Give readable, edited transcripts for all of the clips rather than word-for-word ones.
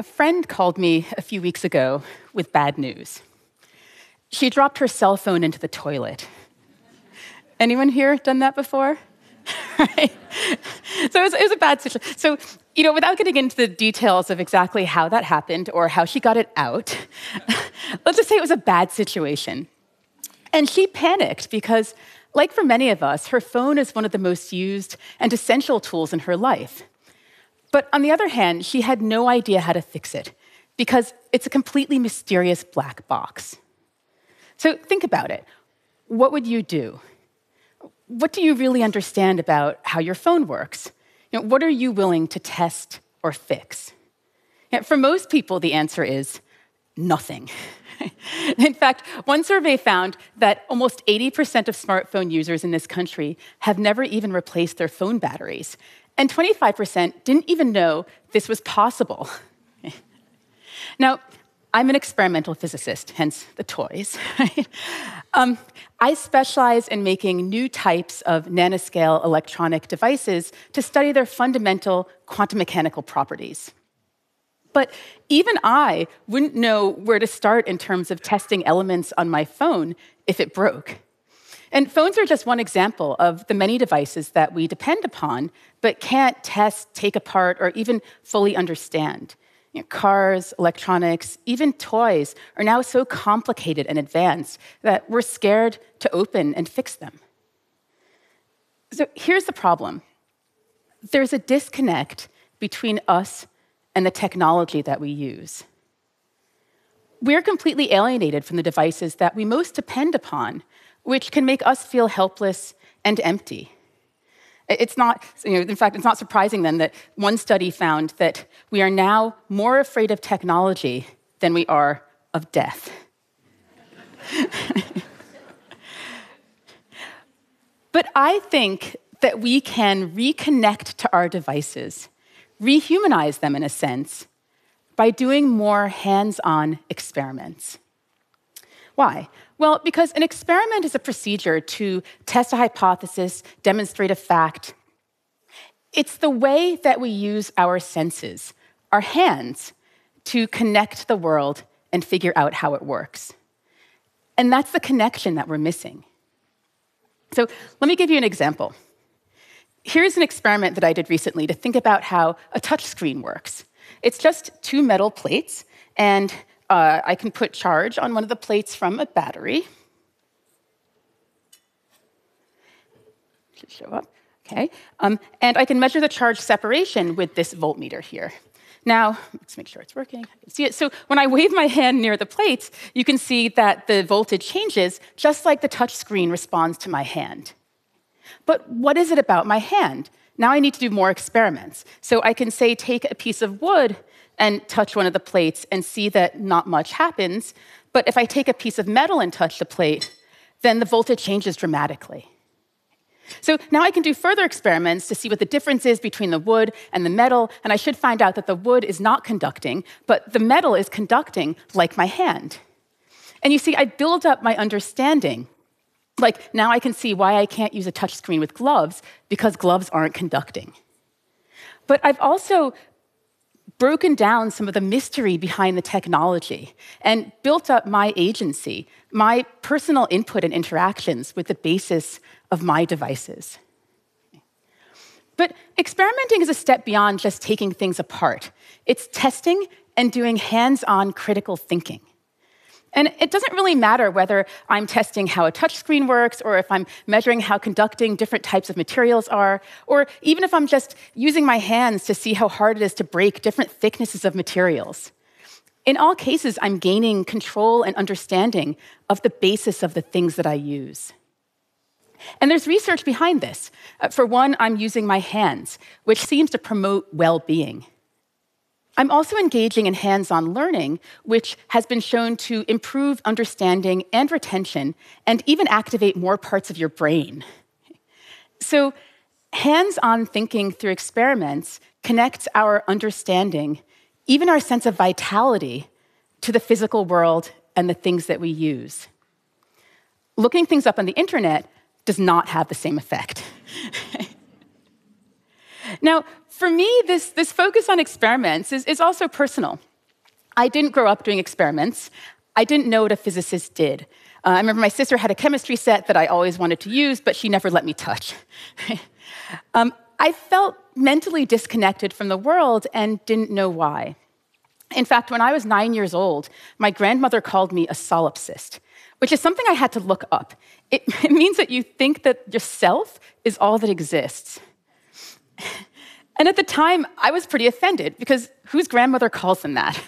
friend called me a few weeks ago with bad news. She dropped her cell phone into the toilet. Anyone here done that before? Right? So it was a bad situation. So, without getting into the details of exactly how that happened or how she got it out, let's just say it was a bad situation. And she panicked because, like for many of us, her phone is one of the most used and essential tools in her life. But on the other hand, she had no idea how to fix it because it's a completely mysterious black box. So think about it. What would you do? What do you really understand about how your phone works? What are you willing to test or fix? For most people, the answer is nothing. In fact, one survey found that almost 80% of smartphone users in this country have never even replaced their phone batteries, and 25% didn't even know this was possible. Now, I'm an experimental physicist, hence the toys. Right? I specialize in making new types of nanoscale electronic devices to study their fundamental quantum mechanical properties. But even I wouldn't know where to start in terms of testing elements on my phone if it broke. And phones are just one example of the many devices that we depend upon, but can't test, take apart, or even fully understand. Cars, electronics, even toys are now so complicated and advanced that we're scared to open and fix them. So here's the problem. There's a disconnect between us and the technology that we use. We're completely alienated from the devices that we most depend upon, which can make us feel helpless and empty. It's not, in fact, it's not surprising then that one study found that we are now more afraid of technology than we are of death. But I think that we can reconnect to our devices, rehumanize them in a sense, by doing more hands-on experiments. Why? Well, because an experiment is a procedure to test a hypothesis, demonstrate a fact. It's the way that we use our senses, our hands, to connect the world and figure out how it works. And that's the connection that we're missing. So let me give you an example. Here's an experiment that I did recently to think about how a touchscreen works. It's just two metal plates, and I can put charge on one of the plates from a battery. Should show up, okay. And I can measure the charge separation with this voltmeter here. Now, let's make sure it's working. I can see it. So when I wave my hand near the plates, you can see that the voltage changes just like the touch screen responds to my hand. But what is it about my hand? Now I need to do more experiments. So I can say, take a piece of wood and touch one of the plates and see that not much happens. But if I take a piece of metal and touch the plate, then the voltage changes dramatically. So now I can do further experiments to see what the difference is between the wood and the metal, and I should find out that the wood is not conducting, but the metal is conducting like my hand. And you see, I build up my understanding. Like, now I can see why I can't use a touchscreen with gloves, because gloves aren't conducting. But I've also broken down some of the mystery behind the technology and built up my agency, my personal input and interactions with the basis of my devices. But experimenting is a step beyond just taking things apart. It's testing and doing hands-on critical thinking. And it doesn't really matter whether I'm testing how a touchscreen works, or if I'm measuring how conducting different types of materials are, or even if I'm just using my hands to see how hard it is to break different thicknesses of materials. In all cases, I'm gaining control and understanding of the basis of the things that I use. And there's research behind this. For one, I'm using my hands, which seems to promote well-being. I'm also engaging in hands-on learning, which has been shown to improve understanding and retention, and even activate more parts of your brain. So hands-on thinking through experiments connects our understanding, even our sense of vitality, to the physical world and the things that we use. Looking things up on the internet does not have the same effect. Now, for me, this focus on experiments is also personal. I didn't grow up doing experiments. I didn't know what a physicist did. I remember my sister had a chemistry set that I always wanted to use, but she never let me touch. I felt mentally disconnected from the world and didn't know why. In fact, when I was 9 years old, my grandmother called me a solipsist, which is something I had to look up. It means that you think that yourself is all that exists. And at the time, I was pretty offended, because whose grandmother calls them that?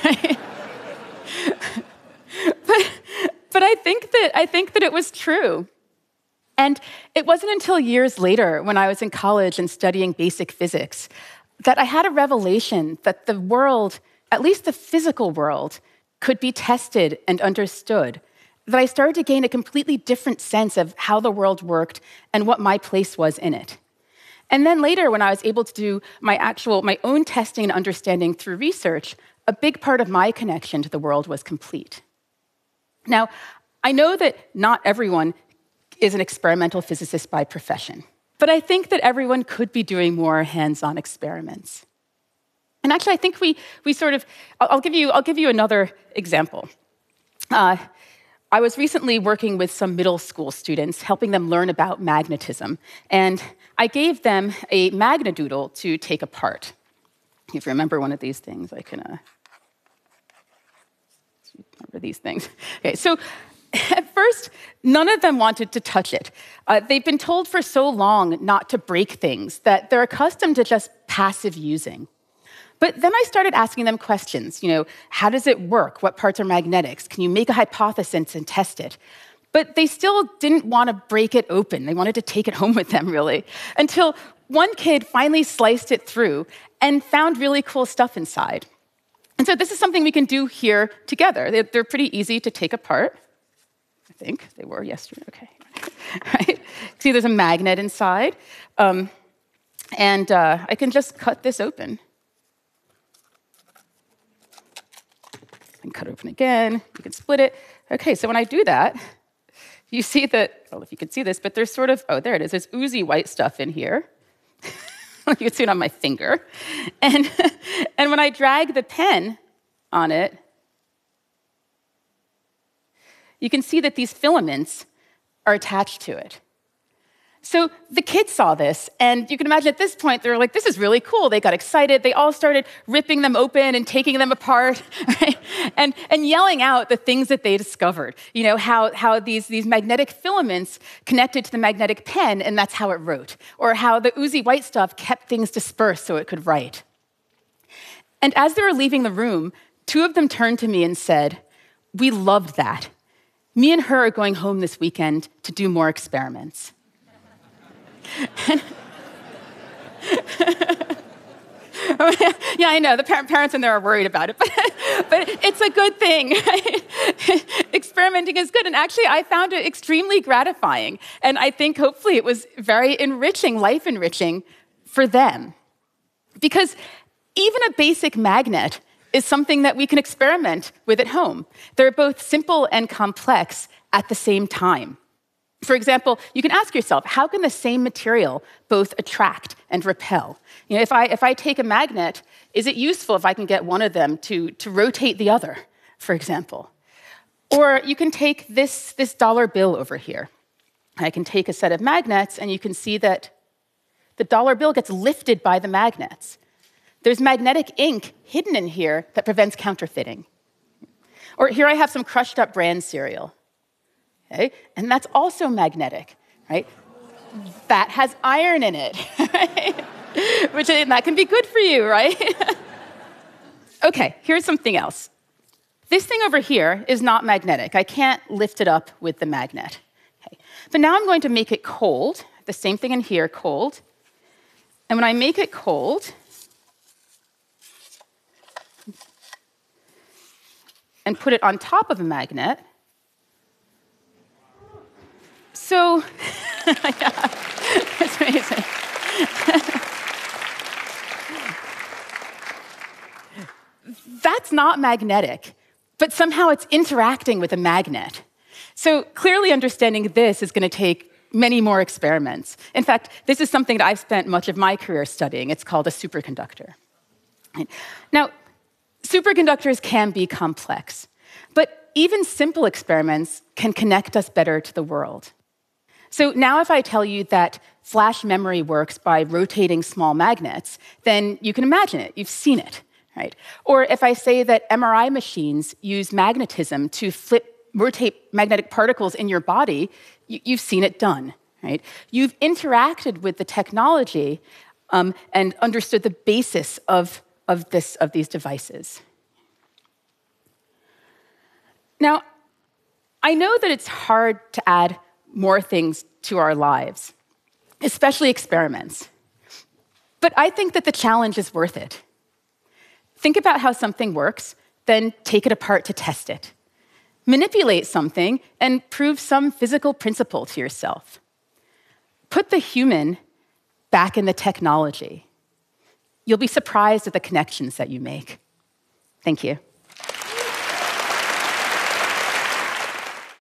But I think that it was true. And it wasn't until years later, when I was in college and studying basic physics, that I had a revelation that the world, at least the physical world, could be tested and understood. That I started to gain a completely different sense of how the world worked and what my place was in it. And then later, when I was able to do my own testing and understanding through research, a big part of my connection to the world was complete. Now, I know that not everyone is an experimental physicist by profession, but I think that everyone could be doing more hands-on experiments. And actually, I think we sort of, I'll give you another example. I was recently working with some middle school students, helping them learn about magnetism, and I gave them a magnadoodle to take apart. If you remember one of these things, I can remember these things. Okay, so at first, none of them wanted to touch it. They've been told for so long not to break things that they're accustomed to just passive using. But then I started asking them questions. How does it work? What parts are magnetics? Can you make a hypothesis and test it? But they still didn't want to break it open. They wanted to take it home with them, really, until one kid finally sliced it through and found really cool stuff inside. And so this is something we can do here together. They're pretty easy to take apart. I think they were yesterday. Okay. Right? See, there's a magnet inside. And I can just cut this open. And cut open again. You can split it. Okay, so when I do that, you see that, I don't know if you can see this, but there's sort of, there it is. There's oozy white stuff in here. You can see it on my finger. And when I drag the pen on it, you can see that these filaments are attached to it. So the kids saw this, and you can imagine at this point, they were like, this is really cool. They got excited. They all started ripping them open and taking them apart, right? and yelling out the things that they discovered. How these magnetic filaments connected to the magnetic pen, and that's how it wrote. Or how the oozy white stuff kept things dispersed so it could write. And as they were leaving the room, two of them turned to me and said, "We loved that. Me and her are going home this weekend to do more experiments." Yeah, I know. The parents in there are worried about it, but it's a good thing. Right? Experimenting is good. And actually, I found it extremely gratifying. And I think hopefully it was very enriching, life-enriching for them. Because even a basic magnet is something that we can experiment with at home. They're both simple and complex at the same time. For example, you can ask yourself, how can the same material both attract and repel? If I take a magnet, is it useful if I can get one of them to rotate the other, for example? Or you can take this dollar bill over here. I can take a set of magnets, and you can see that the dollar bill gets lifted by the magnets. There's magnetic ink hidden in here that prevents counterfeiting. Or here I have some crushed up bran cereal. Okay? And that's also magnetic, right? That has iron in it, right? That can be good for you, right? Okay, here's something else. This thing over here is not magnetic. I can't lift it up with the magnet. Okay. But now I'm going to make it cold. The same thing in here, cold. And when I make it cold, and put it on top of a magnet, so, yeah, it's amazing. That's not magnetic, but somehow it's interacting with a magnet. So clearly understanding this is going to take many more experiments. In fact, this is something that I've spent much of my career studying. It's called a superconductor. Now, Superconductors can be complex, but even simple experiments can connect us better to the world. So now if I tell you that flash memory works by rotating small magnets, then you can imagine it, you've seen it, right? Or if I say that MRI machines use magnetism to rotate magnetic particles in your body, you've seen it done, right? You've interacted with the technology and understood the basis of these devices. Now, I know that it's hard to add more things to our lives, especially experiments. But I think that the challenge is worth it. Think about how something works, then take it apart to test it. Manipulate something and prove some physical principle to yourself. Put the human back in the technology. You'll be surprised at the connections that you make. Thank you.